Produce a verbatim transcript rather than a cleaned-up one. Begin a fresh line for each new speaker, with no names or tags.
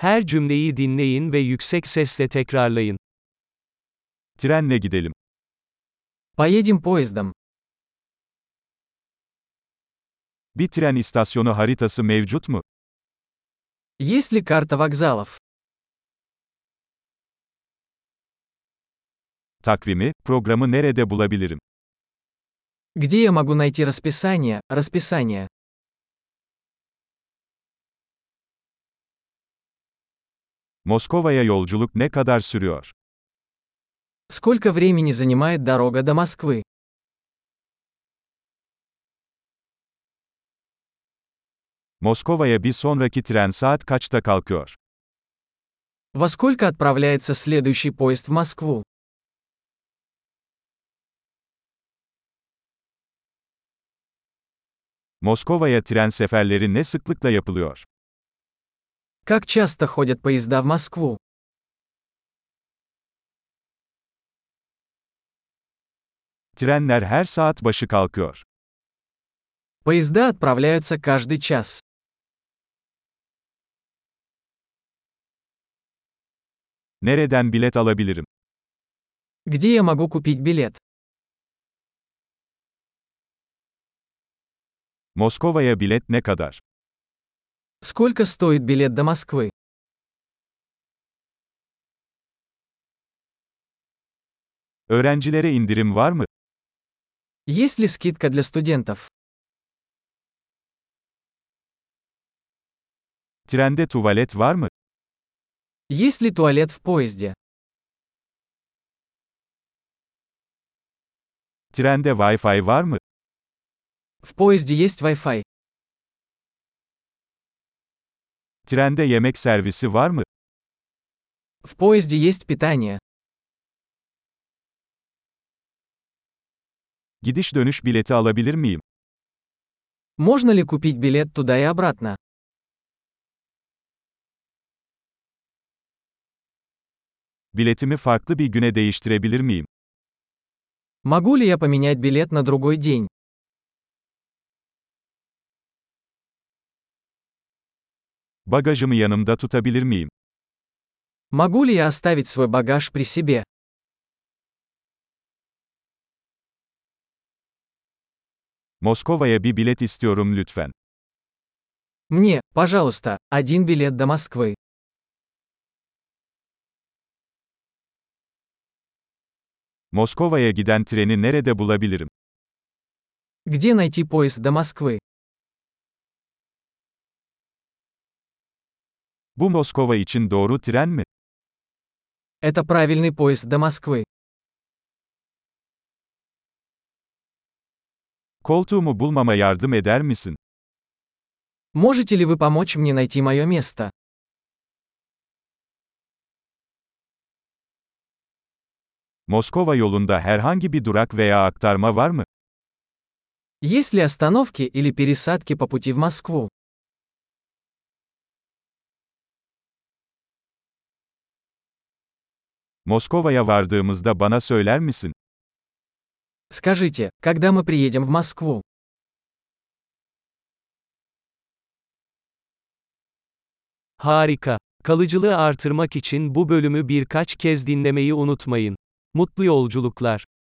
Her cümleyi dinleyin ve yüksek sesle tekrarlayın.
Trenle gidelim.
Поедем поездом.
Bir tren istasyonu haritası mevcut mu?
Есть ли карта вокзалов?
Takvimi, programı nerede bulabilirim?
Где я могу найти расписание, расписание?
Moskova'ya yolculuk ne kadar sürüyor?
Сколько времени занимает дорога до Москвы?
Moskova'ya bir sonraki tren saat kaçta kalkıyor?
Во сколько отправляется следующий поезд в Москву?
Moskova'ya tren seferleri ne sıklıkla yapılıyor?
Как часто ходят поезда в Москву?
Trenler her saat başı kalkıyor.
Поезда отправляются каждый час.
Nereden bilet alabilirim?
Где я могу купить билет?
Moskova'ya bilet ne kadar?
Сколько стоит билет до Москвы?
Öğrencilere indirim var mı?
Есть ли скидка для студентов?
Trende tuvalet var mı?
Есть ли туалет в поезде?
Trende Wi-Fi var mı?
В поезде есть Wi-Fi.
Trende yemek servisi var mı?
В поезде есть питание.
Gidiş dönüş bileti alabilir miyim?
Можно ли купить билет туда и обратно?
Biletimi farklı bir güne değiştirebilir miyim?
Могу ли я поменять билет на другой день?
Bagajımı yanımda tutabilir miyim?
Могу ли я оставить свой багаж при себе?
Moskova'ya bir bilet istiyorum lütfen.
Мне, пожалуйста, один билет до Москвы.
Moskova'ya giden treni nerede bulabilirim?
Где найти поезд до Москвы?
Bu Moskova için doğru tren mi?
Это правильный поезд до Москвы.
Koltuğumu bulmama yardım eder misin?
Можете ли вы помочь мне найти мое место?
Moskova yolunda herhangi bir durak veya aktarma var mı?
Есть ли остановки или пересадки по пути в Москву?
Moskova'ya vardığımızda bana söyler misin?
Скажите, когда мы приедем в Москву?
Harika. Kalıcılığı artırmak için bu bölümü birkaç kez dinlemeyi unutmayın. Mutlu yolculuklar.